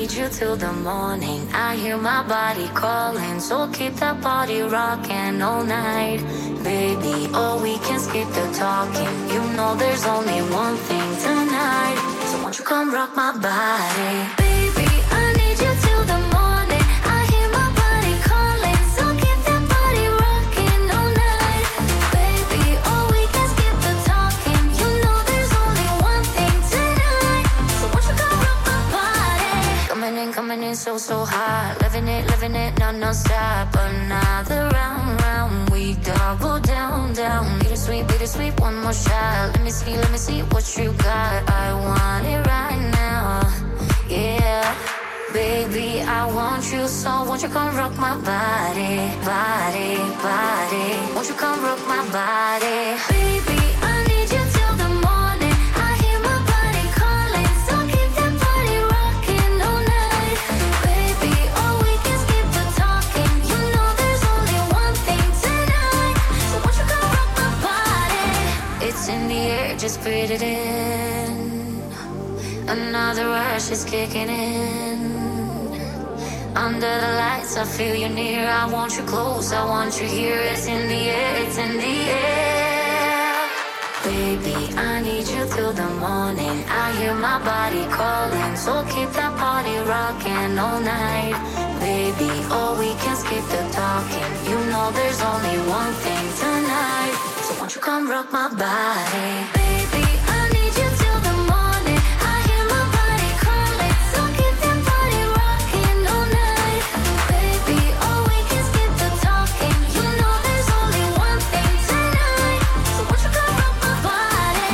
need you till the morning. I hear my body calling, so keep that body rocking all night. Baby, oh, we can skip the talking. You know there's only one thing tonight. So won't you come rock my body? Baby, I need you till the morning. I hear my body calling, so keep that body rocking all night. Baby, oh, we can skip the talking. You know there's only one thing tonight. So won't you come rock my body? Coming in so hot. Living it, non-stop. Another round, we double down. Bittersweet, one more shot. Let me see what you got. I want it right now, yeah. Baby, I want you, so won't you come rock my body. Won't you come rock my body? Baby, I need you till the morning. I hear my body calling, so keep that body rocking all night. Baby, oh, we can skip the talking. You know there's only one thing tonight. So won't you come rock my body? It's in the air, just breathe it in. Another rush is kicking in. Under the lights, I feel you near. I want you close, I want you here. It's in the air, it's in the air. Baby, I need you till the morning. I hear my body calling, so keep that body rocking all night. Baby, oh, we can skip the talking. You know there's only one thing tonight. So won't you come rock my body? Baby, I need you till the morning. I hear my body calling, so keep that body rocking all night. Baby, oh, we can skip the talking. You know there's only one thing tonight. So won't you come rock my body?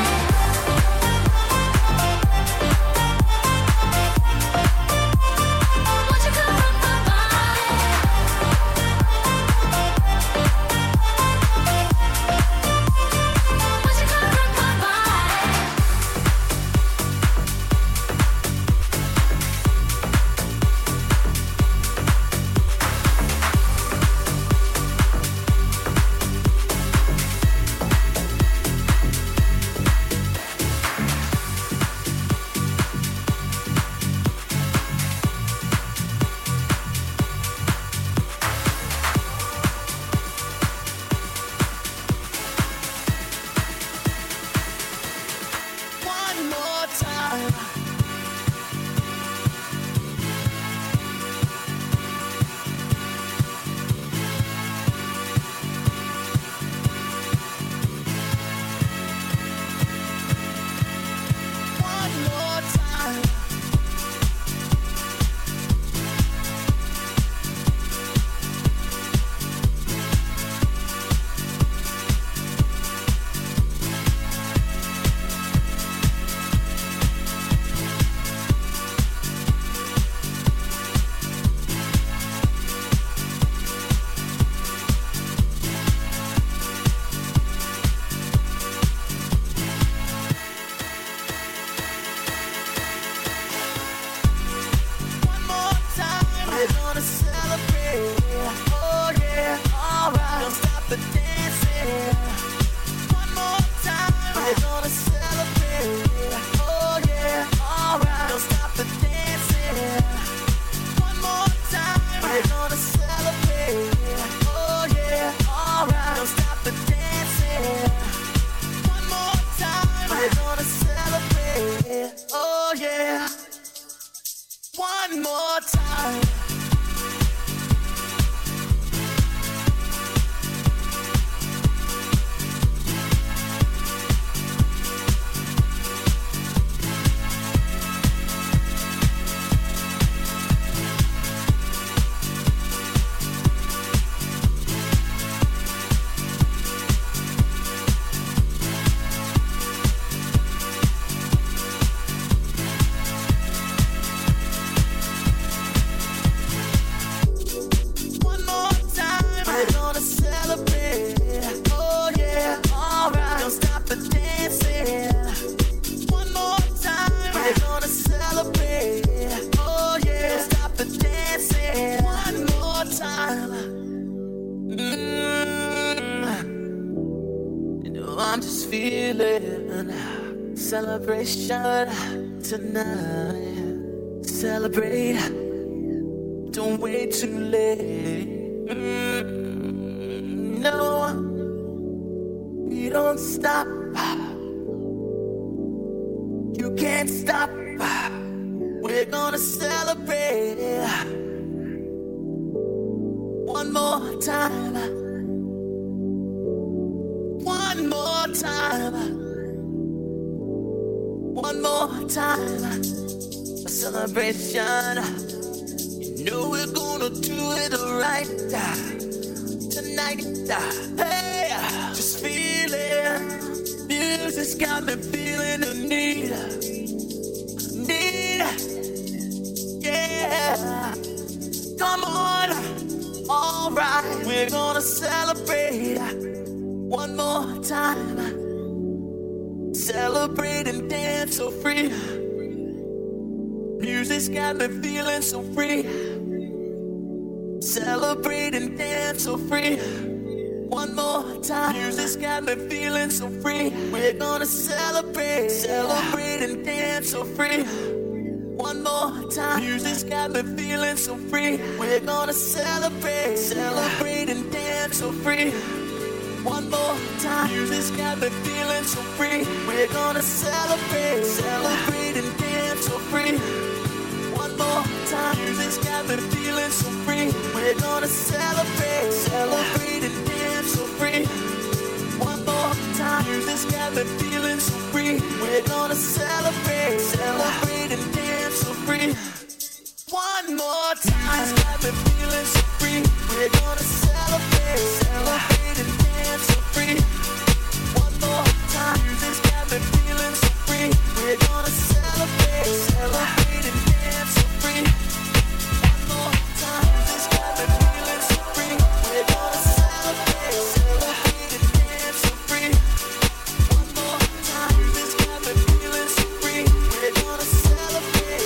Won't you come rock my body? Won't you come rock my body? One more time. One more time. One more time. We're gonna celebrate. Oh yeah, alright. Don't stop the dancing. One more time. We're gonna celebrate. Oh yeah, alright. Don't stop the dancing. One more time. We're gonna celebrate. Oh yeah, alright. Don't stop the dancing. One more time. We're gonna celebrate. Oh yeah. One more time. One more time. We're gonna celebrate. Oh yeah, alright. Don't stop the dancing. One more time. We're gonna celebrate. Oh yeah, don't stop the dancing. One more time. You know I'm just feeling celebration tonight. celebrate. Don't wait too late. No, we don't stop. You can't stop. We're gonna celebrate one more time. One more time. One more time. A celebration. You know we're gonna do it right tonight. Hey, just feel it. Music's got me feeling the need. Yeah. Come on. All right. We're gonna celebrate one more time. Celebrate and dance so free. Music's got me feeling so free. Celebrate and dance so free. One more time. Music's got me feeling so free. We're gonna celebrate. Celebrate and dance so free. One more time. Music's got me feeling so free. We're gonna celebrate. Celebrate and dance so free. One more time. Music's got me feeling so free. We're gonna celebrate. Celebrate and dance so free. One more time. Music's got me feeling so free. We're gonna celebrate. Celebrate and dance so free. One more time. Music's got me feeling so free. We're gonna celebrate. Celebrate and dance so free. One more time. Music's got me feeling so free. We're gonna celebrate. Celebrate and dance so free. One more time. Music's got me feeling so free. We're gonna celebrate. Celebrate and dance so free. One more time. Music's got me feeling so free. We're gonna celebrate. Celebrate and dance so free. One more time. Music's got me feeling so free. We're gonna celebrate.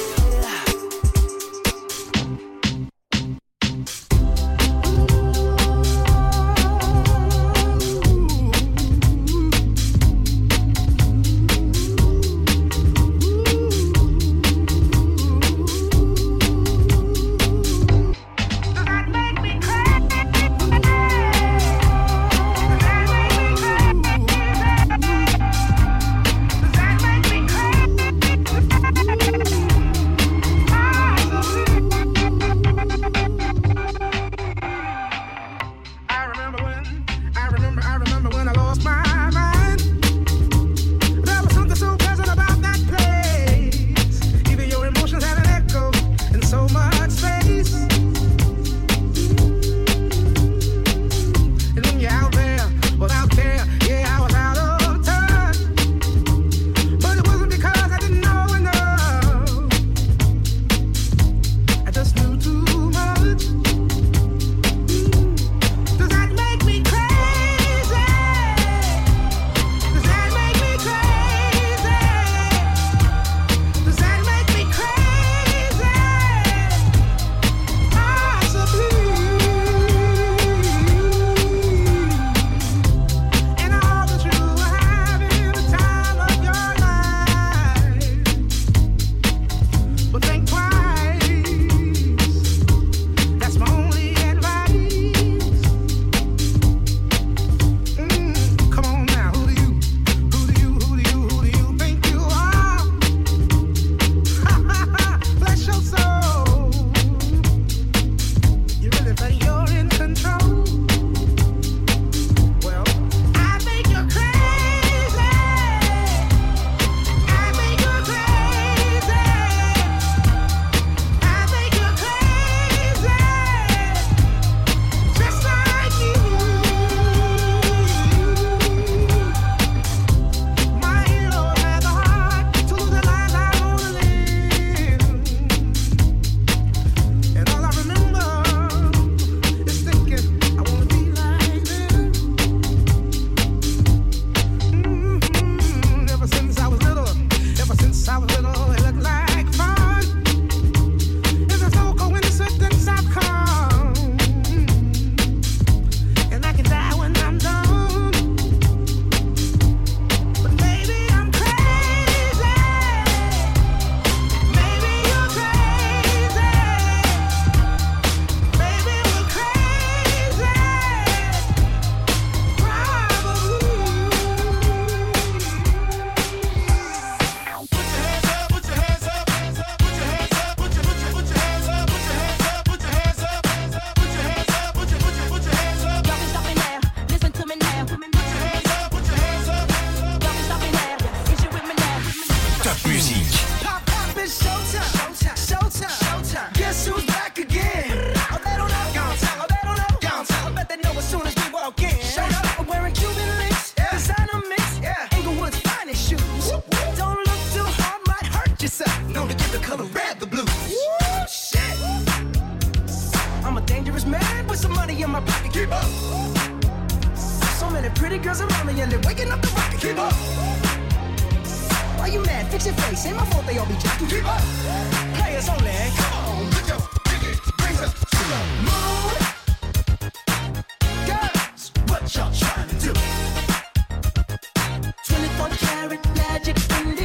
girls around me and they're waking up the rocket. Keep up. Why you mad? Fix your face. Ain't my fault they all be jacking. Keep up. Players only. Come on, put your pinky rings up to the moon. Girls, what y'all trying to do? 24 karat magic in the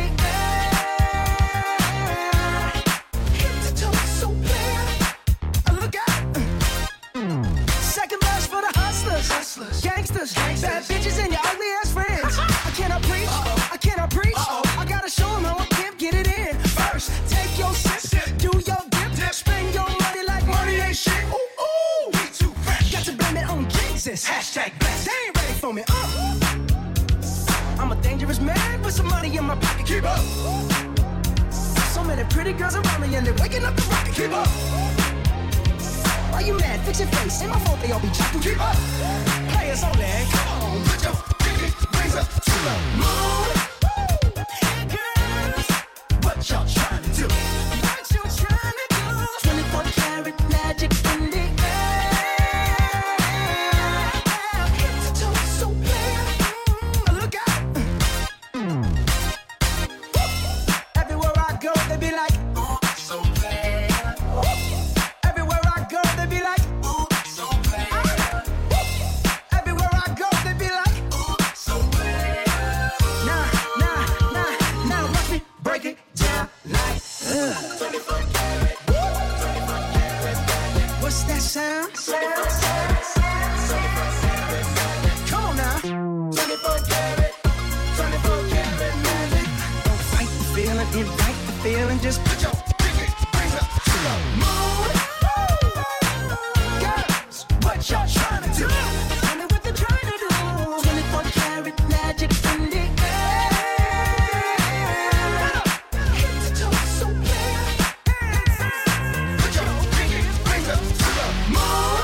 air. Hit the toe so clear. Look out. Second verse for the hustlers, gangsters, bad bitches and your ugly ass friends. I cannot preach, I cannot preach. I gotta show them how I can get it in. First, take your sip, do your dip, spend your money like money ain't shit. Ooh, ooh, we too fresh. Got to blame it on Jesus. Hashtag blessed. They ain't ready for me. I'm a dangerous man with some money in my pocket. Keep up. So many pretty girls around me and they're waking up the rocket. Keep up. Why you mad? Fix your face. Ain't my fault they all be jacking. Keep up. Players only. Come on, put your pinky rings up to the moon. Girls, what y'all trying to do? What you trying to do? 24 karat magic in the air. Hit the toe so clear. Look out. Everywhere I go, they be like, ooh, so bad. Everywhere I go, they be like, ooh, so bad. Everywhere I go, they be like, ooh, so bad. Now, watch me break it down like, 24 karat, 24 karat. What's that sound? Come on now. 24 karat, 24 karat magic. Don't fight the feeling, invite the feeling. Just put your pinky rings up to the moon. Girls, what y'all trying to do? Tell me what they're trying to do. 24 karat magic in the air. Hit the toe so clear. Put your pinky rings up to the moon.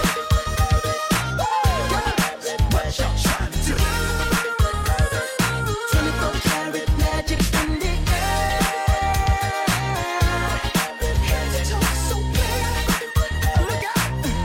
Girls, what y'all trying to do? 24 karat magic in the air. Hit the toe so clear. Look out.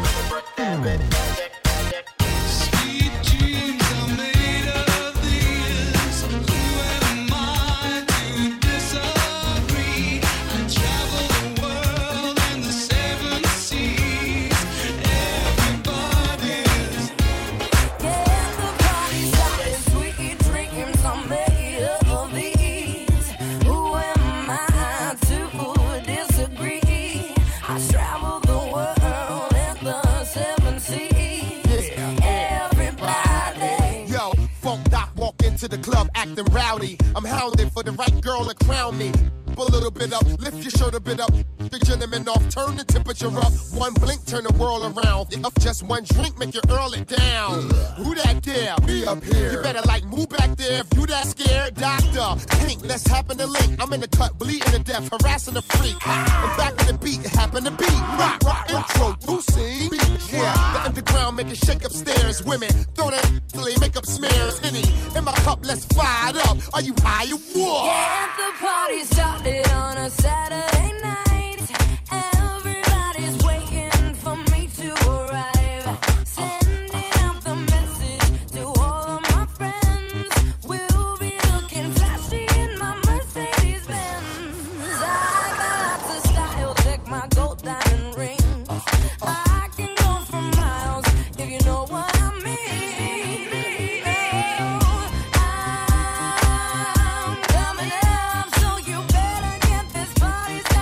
Sweet dreams are made of this. Who am I to disagree? I travel the world and the seven seas. Everybody's Yeah, the party's started. Sweet dreams are made of these. Who am I to disagree? I travel the world and the seven seas. Everybody. Yo, Funk Doc walk into the club acting rowdy. I'm hounded for the right girl to crown me. A little bit up, lift your shirt a bit up. The gentleman off, turn the temperature up. One blink, turn the world around. Up just one drink, make you earl it down. Who that there? Me up here. You better like move back there if you that scared. Doctor, Pink, let's happen to link. I'm in the cut, bleeding to death, harassing the freak. I'm back in the beat, happen to beat. Rock, introducing. Yeah, the underground make it shake upstairs. Women, throw that till they make up smears. Henny, in my cup, let's fire it up. Are you high or what? Yeah, the party started on a Saturday night. Everybody's waiting for me to arrive. Sending out the message to all of my friends. We'll be looking flashy in my Mercedes Benz. I got lots of style, check my gold diamond ring. I can go for miles if you know what I mean. I'm coming up, so you better get this party started.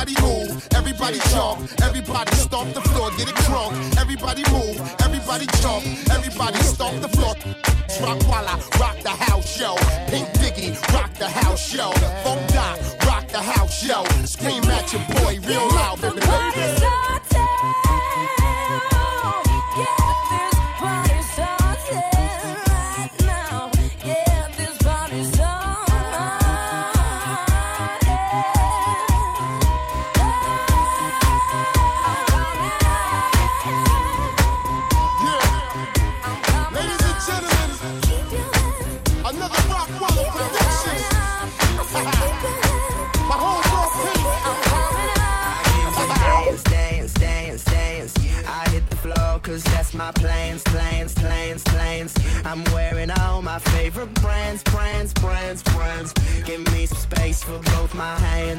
Everybody move, everybody jump, everybody stomp the floor, get it crunk. Everybody move, everybody jump, everybody stomp the floor. Rock Walla, rock the house, yo. Pink Diggy, rock the house, yo. Funk Doc, rock the house, yo. Scream at your boy real loud, baby. Cause that's my plans. I'm wearing all my favorite brands. Give me some space for both my hands.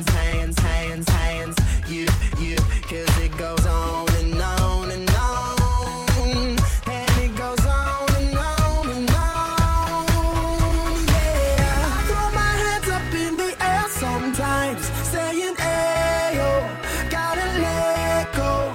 You, cause it goes on and on and on. And it goes on and on and on. Yeah, I throw my hands up in the air sometimes, saying, ayo, gotta let go.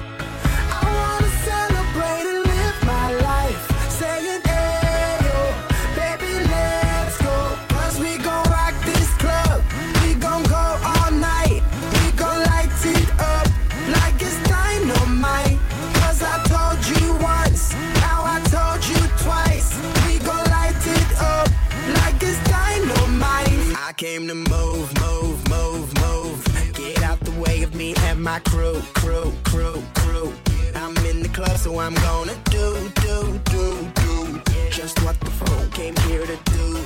I came to move. Get out the way of me and my crew. I'm in the club, so I'm gonna do. Just what the phone came here to do.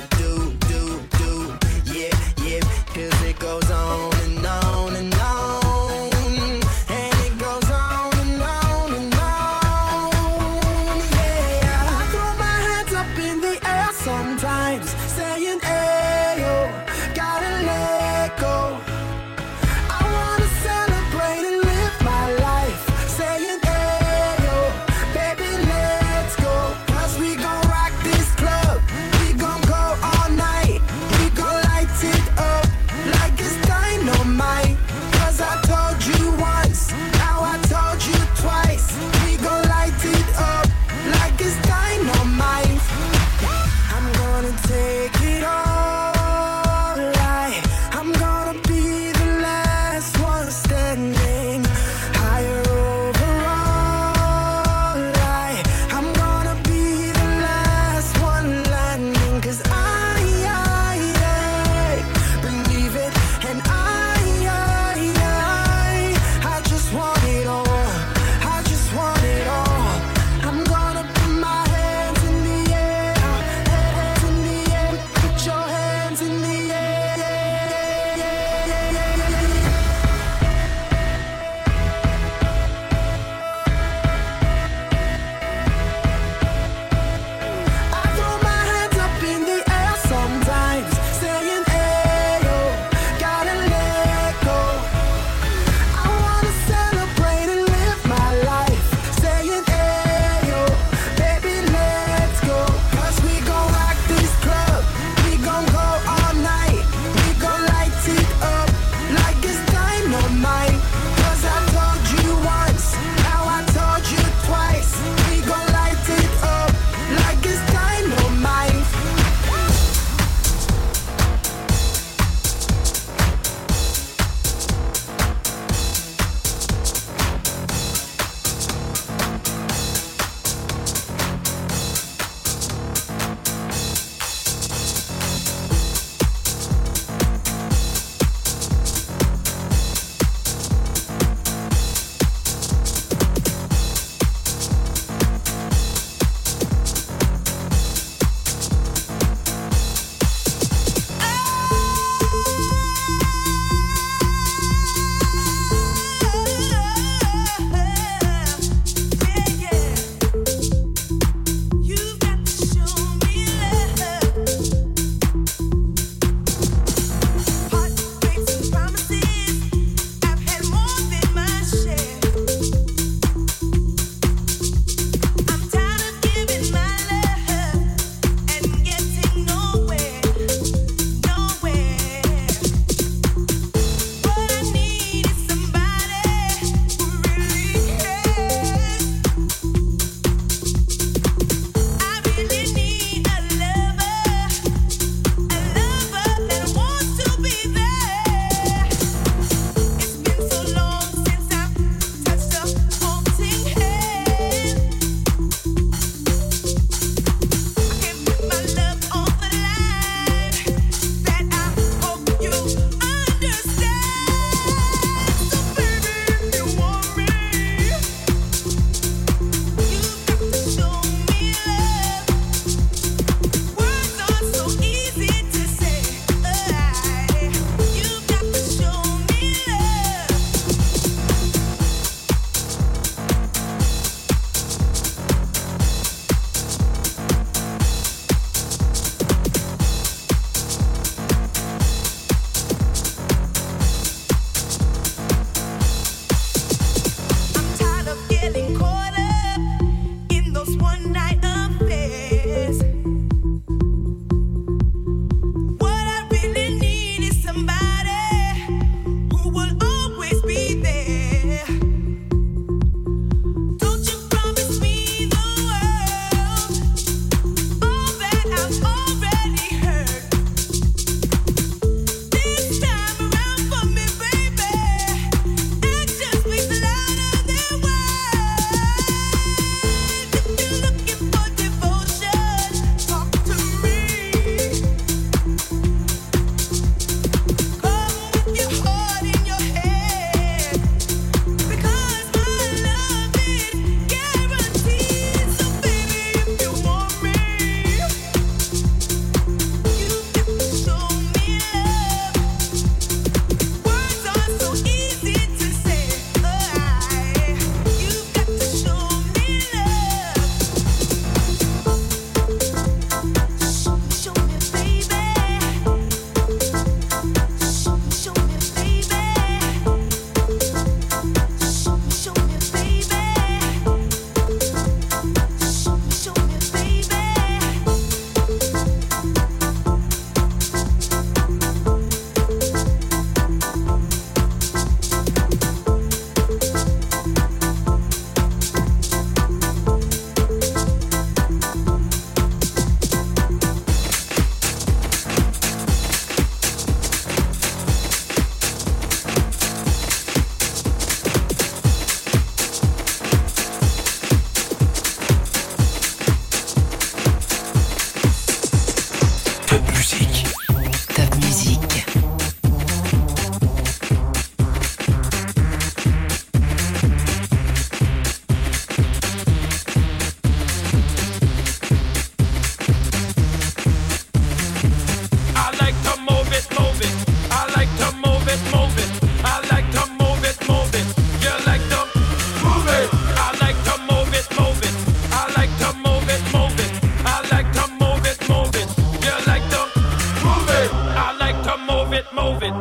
Yeah, cause it goes on and on and on. And it goes on and on and on. Yeah, I throw my hands up in the air sometimes, saying, ayo, gotta let go. I wanna celebrate and live my life, saying, ayo, baby, let's go. Cause we gon' rock this club, we gon' go all night, we gon' light it up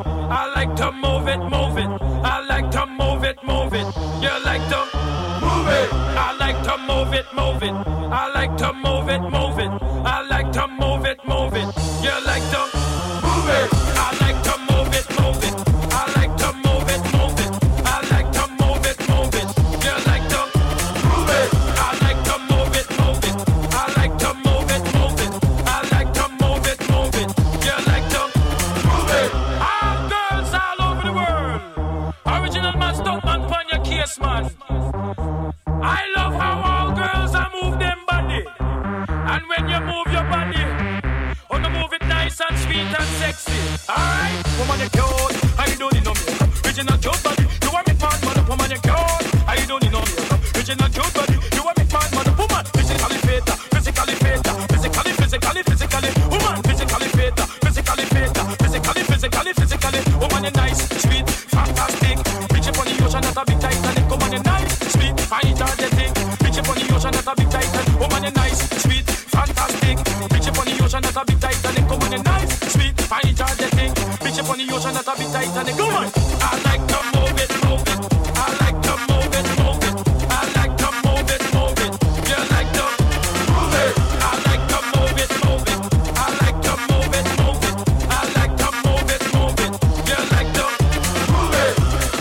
I like to move it, move it. I like to move it, move it. You like to move it. I like to move it, move it. I like to move it, move it. I like to move it, move it. You like to move it. I like to move it, move it. I like to move it, move it. I like to move it, move it. You like to move it. I like to move it, move it. I like to move it, move it. I like to move it, move it. You like to move it. All girls all over the world. Original man, stunt man, pon your case, man. I love how all girls are move them body. And when you move your body, oh, no, move it nice and sweet and sexy. Alright? Woman, you cute. I don't need no makeup. Original cute body. You want me man, mother. Woman, you cute. I don't need no makeup. Original cute body. You want me man, mother. Woman, physically fit. Physically fit. Physically. Woman, physically fit. Physically fit. Physically. Woman, you nice, sweet, fantastic. Bitch up on the ocean, not a big Titanic. Woman, you nice, sweet, fine, energetic. Bitch up on the ocean, not a big Titanic. Woman, you nice, sweet, fantastic. Bitch up on the ocean, not a big Titanic. Woman, you nice, sweet, fine, energetic. Bitch up on the ocean, not a big Titanic. Woman, I like to move it, move it. I like to move it, move it. I like to move it, move it. You like to move it. I like to move it, move it. I like to move it, move it. I like to move it, move it. You like to move it.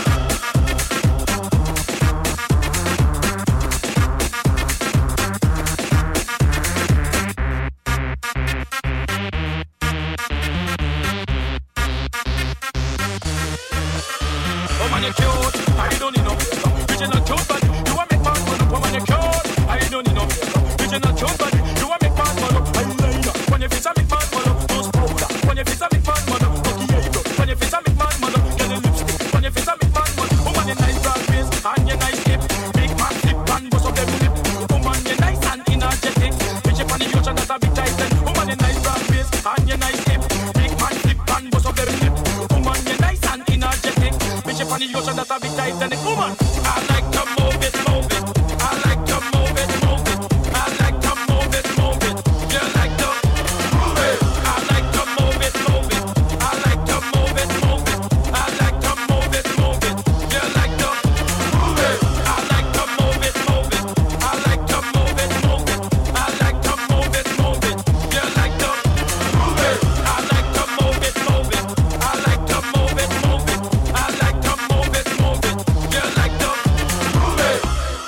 Woman, you cute. I don't need no makeup. Original cute body. You want me man, man. Woman, you cute. I don't need no makeup. Original cute body. You want me man, man. Eyeliner. When you face a big man, man. Nose powder. When you face a big man, man. Cocky eyebrow. When you face a big man, man. Get a lipstick. When you face a big man, man. Woman, you nice broad face and you nice hip. Big man flip and bust up them lip. Woman, you nice and energetic. Bitch up on the ocean, that's a big Titan. Woman, you nice broad face and you nice hip. Big man flip and bust up them lip. Woman, you nice and energetic. Bitch up on the ocean, that's a big Titanic. Woman, I like to move it, move it. I like to move it, move it. I like to move it, move it. You like to move it. I like to move it, move it. I like to move it, move it. I like to move it, move it. You like to move it. I like to move it, move it. I like to move it, move it. I like to move it, move it. You like to move it. I like to move it, move it. I like to move it, move it. I like to move it, move it. You like to move it.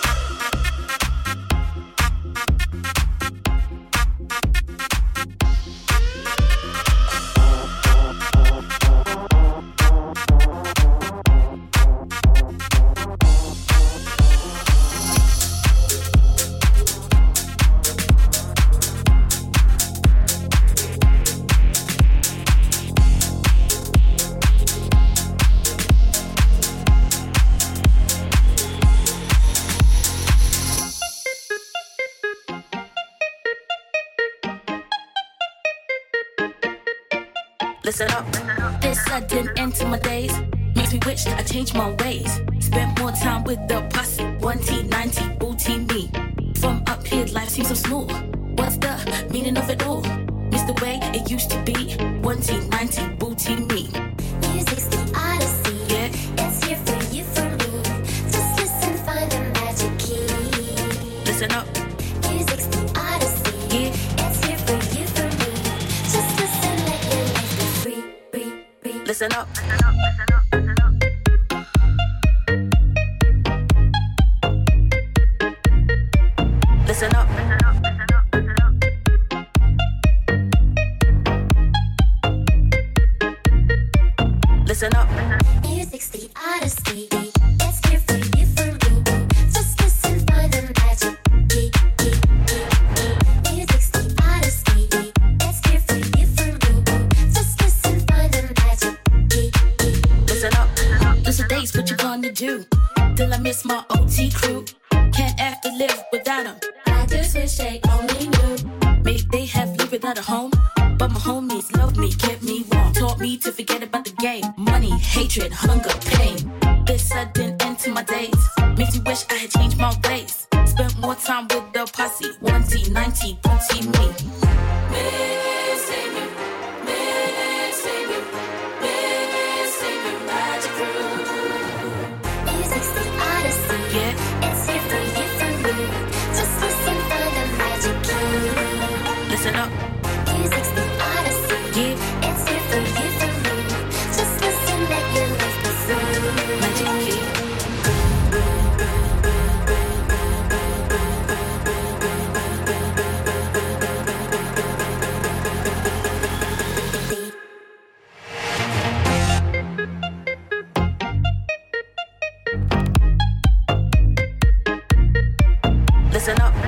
Listen up. This sudden end to my days makes me wish I changed my ways. Spent more time with the posse. 1T90 booty me. From up here, life seems so smooth. What's the meaning of it all? Miss the way it used to be. 1T90 booty me. Music's the odyssey. Yeah. It's here for you, for me. Just listen, find the magic key. Listen up. Music's the odyssey. Yeah. It's here for you, for me. Just listen, let your life be free. Listen up. Listen up. Listen up. Music's the odyssey. It's here for you, for me. Just listen, find the magic key. Music's the odyssey. It's here for you, for me. Just listen, find the magic key. Listen up. Those are days, what you gonna do? Till I miss my OT crew. Can't have to live without them. I just wish they only knew. Maybe they have lived without a home, but my homies loved me, kept me warm, taught me to forget about the game. Money, hatred, hunger, pain. This sudden end to my days makes me wish I had changed my ways. Spent more time with the posse. 1T90, booty me. Missing you, missing you, missing magic room. Music's the odyssey. Yeah, It's here for you, for me. Just listen for the magic key. listen up. Music's the odyssey. Yeah, It's here for you, for me. Just listen, let your life be free. magic key. Listen up.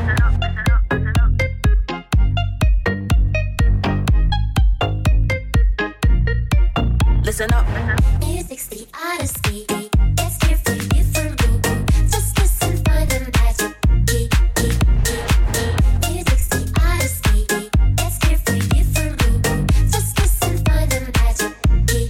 Listen up. Music's the odyssey. It's here for you, for me. Just listen for the magic key. Music's the odyssey. It's here for you, for me. Just listen for the magic key.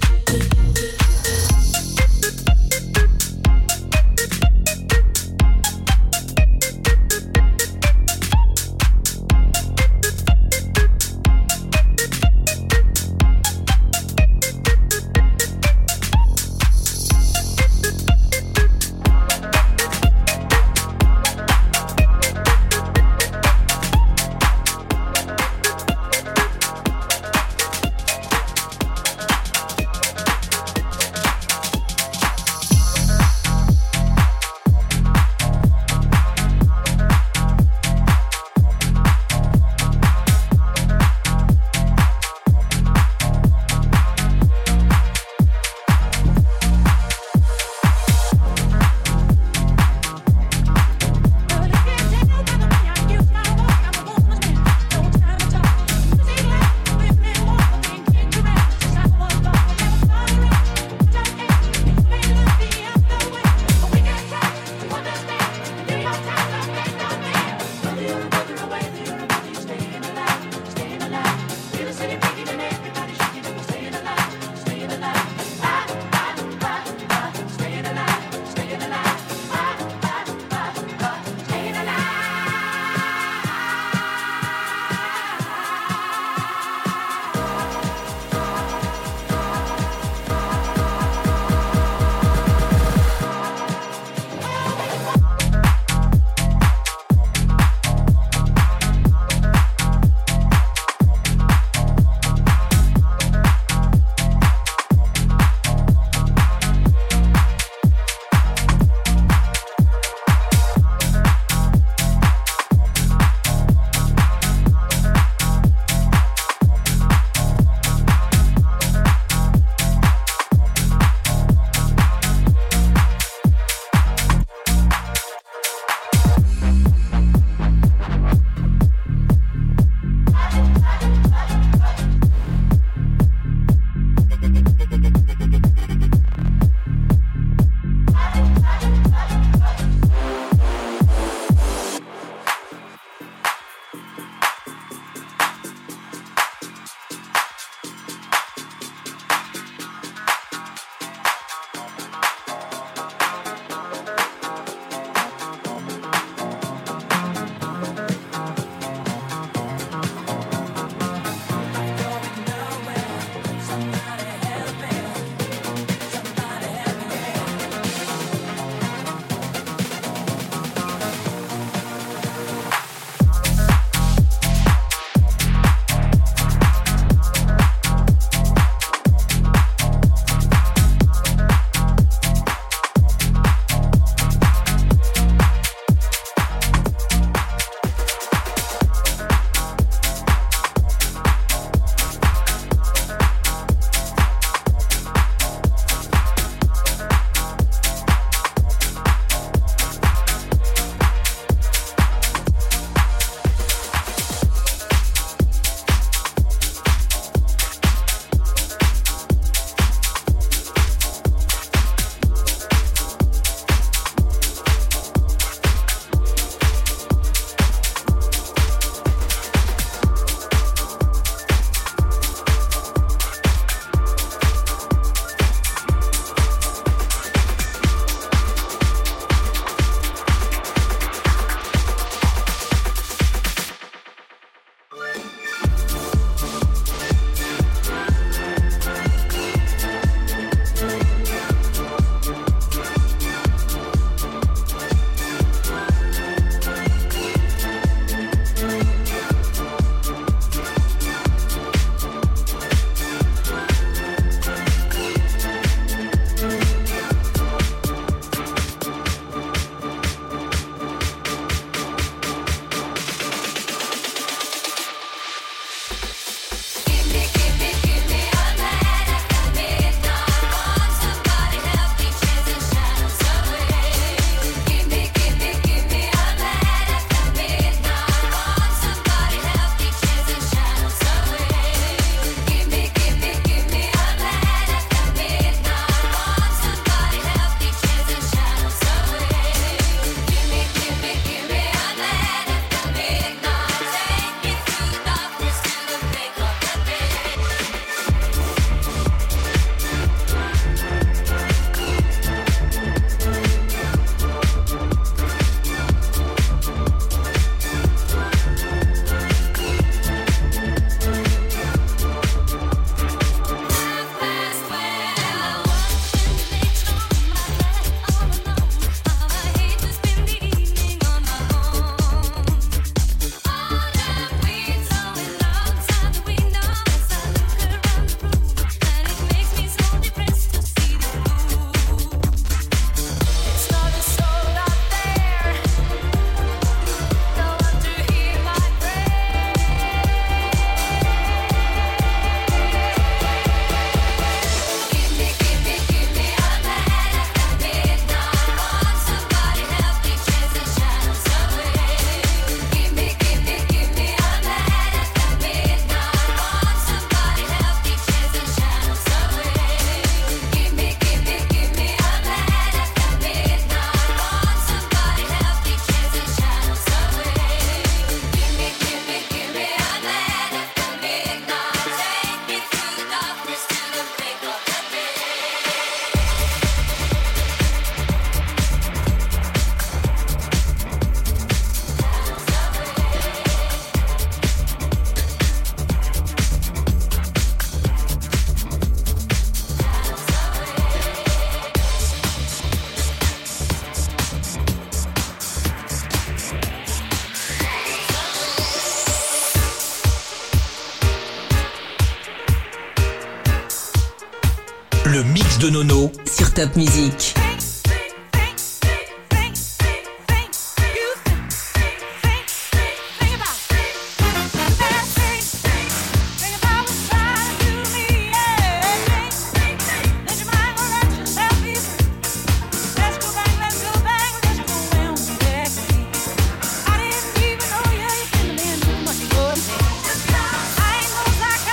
de Nono sur Top Music.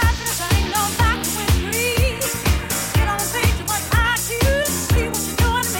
It don't take too much IQ to see what you're doing.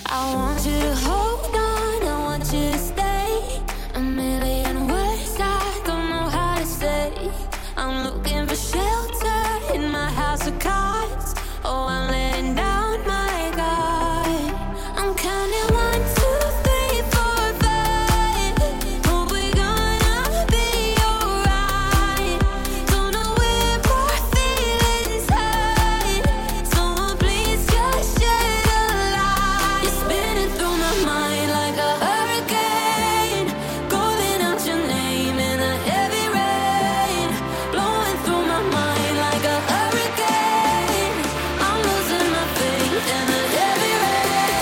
I want you to hold on, I want you to stay. A million words I don't know how to say. I'm looking for shelter in my house of cards. Oh, I'm letting down my guard. I'm counting 1, 2, 3, 4, 5. Hope we're gonna be alright. Don't know where my feelings hide. Someone please just shed a light. You're spinning through my mind like a hurricane, calling out your name in a heavy rain, blowing through my mind like a hurricane. I'm losing my faith in a heavy rain.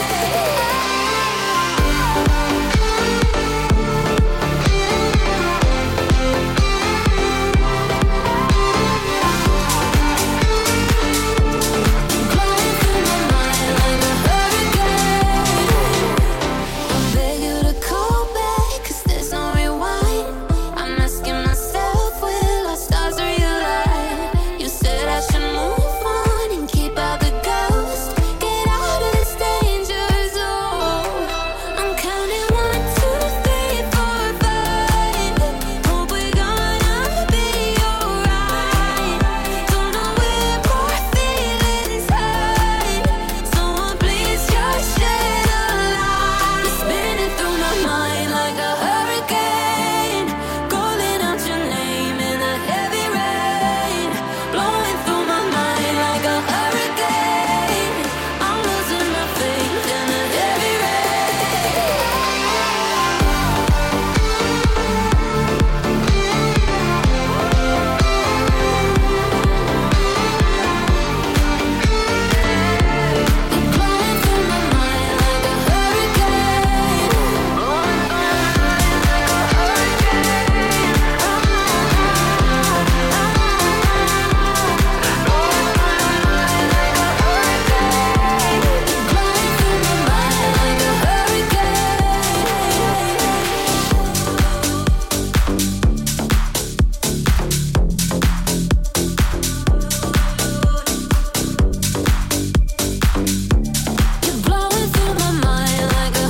Blowing through my mind like a hurricane. I beg you to call back, 'cause there's no rewind. I'm asking myself, will our stars realign? You said I should move on and keep out the ghost. Get out of this danger zone. I'm counting 1, 2, 3, 4, 5. Hope we're gonna be alright. Don't know where my feelings hide. Someone please just shed a light. You're spinning through my mind like a hurricane, calling out your name in a heavy rain, blowing through my mind like a hurricane. I'm losing my faith in a heavy rain. You're blowing through my mind like a hurricane, blowing through my mind like a hurricane. Blowing through my mind like a hurricane. Blowing through my mind like a You're blowing through my mind like a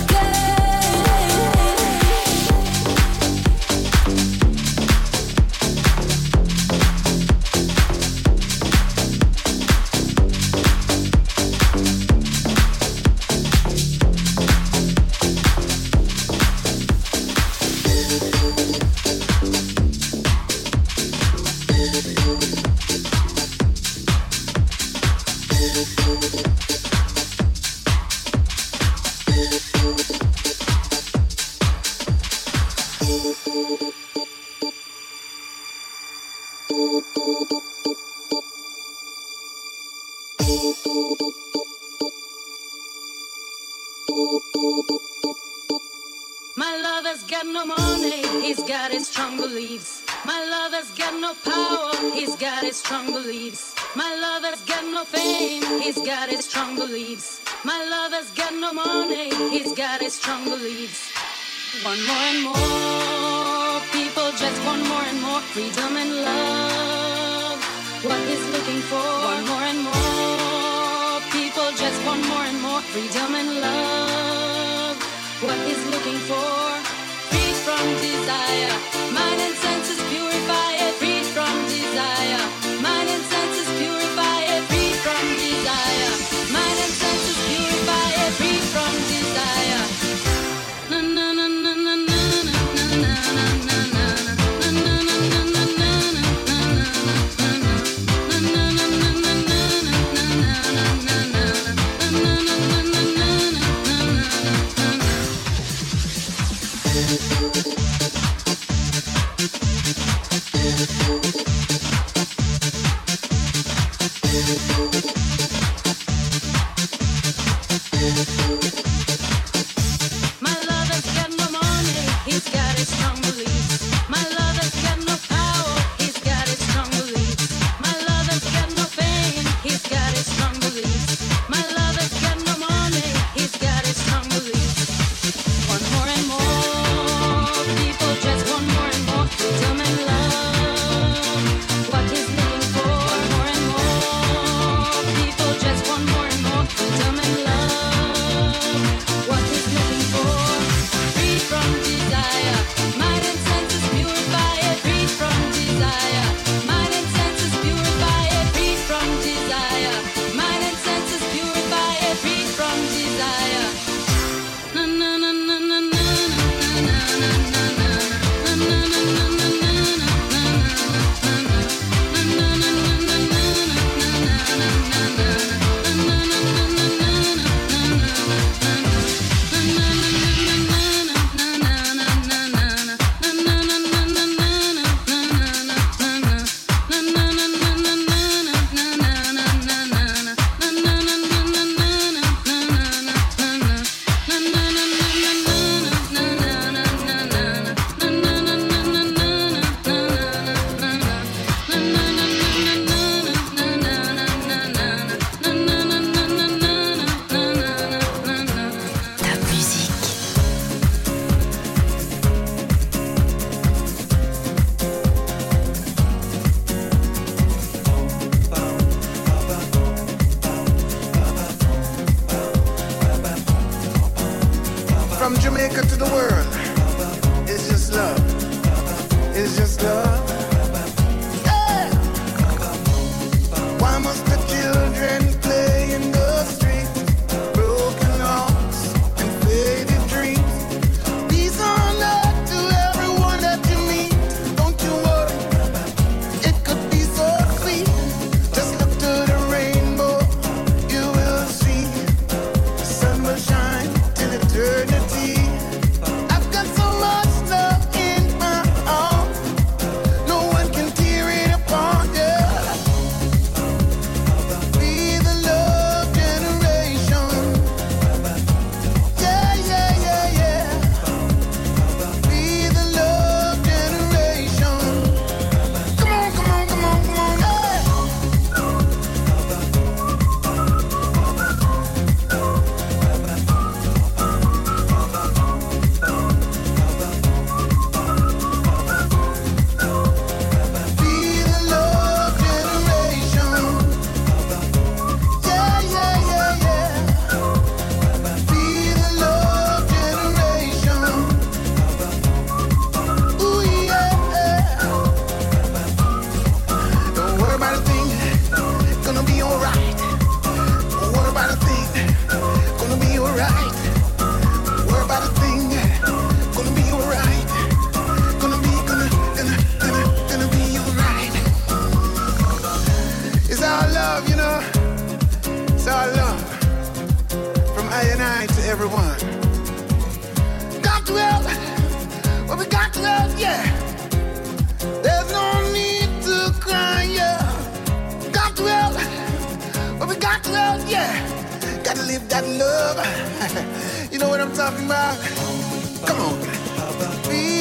My lover's got no money, he's got his strong beliefs. My lover's got no power, he's got his strong beliefs. My lover's got no fame, he's got his strong beliefs. My lover's got no money, he's got his strong beliefs. Want more and more, people just want more and more freedom and love. What he's looking for, want more and more, people just want more and more freedom and love. What he's looking for, free from desire, mind and senses purify it, free from desire, mind and senses purify it, free from desire, mind and senses purify it, free from desire. Na na na na na na na na na na From Jamaica to the world, it's just love. It's just love. Yeah. Why must the children play in the streets? Broken hearts and faded dreams. Peace on earth to everyone that you meet. Don't you worry, it could be so sweet. Just look to the rainbow, you will see. The sun will shine till eternity. I've got so much love in my heart, no one can tear it apart, yeah. Be the love generation. Yeah, yeah, yeah, yeah. Be the love generation. Come on, come on, come on, come on, yeah. Be the love generation. Yeah, yeah, yeah, yeah. Be the love generation. Ooh, yeah. Don't worry about a thing, gonna be alright. Don't worry about a thing, gonna be alright. Don't worry about a thing, gonna be alright. Gonna be alright. It's our love, you know. It's our love. From I and I to everyone. Got to help. Well, we got to help, yeah. There's no need to cry, yeah. Got to help. Well, we got to help, yeah. Gotta live that love. You know what I'm talking about? Come on. Be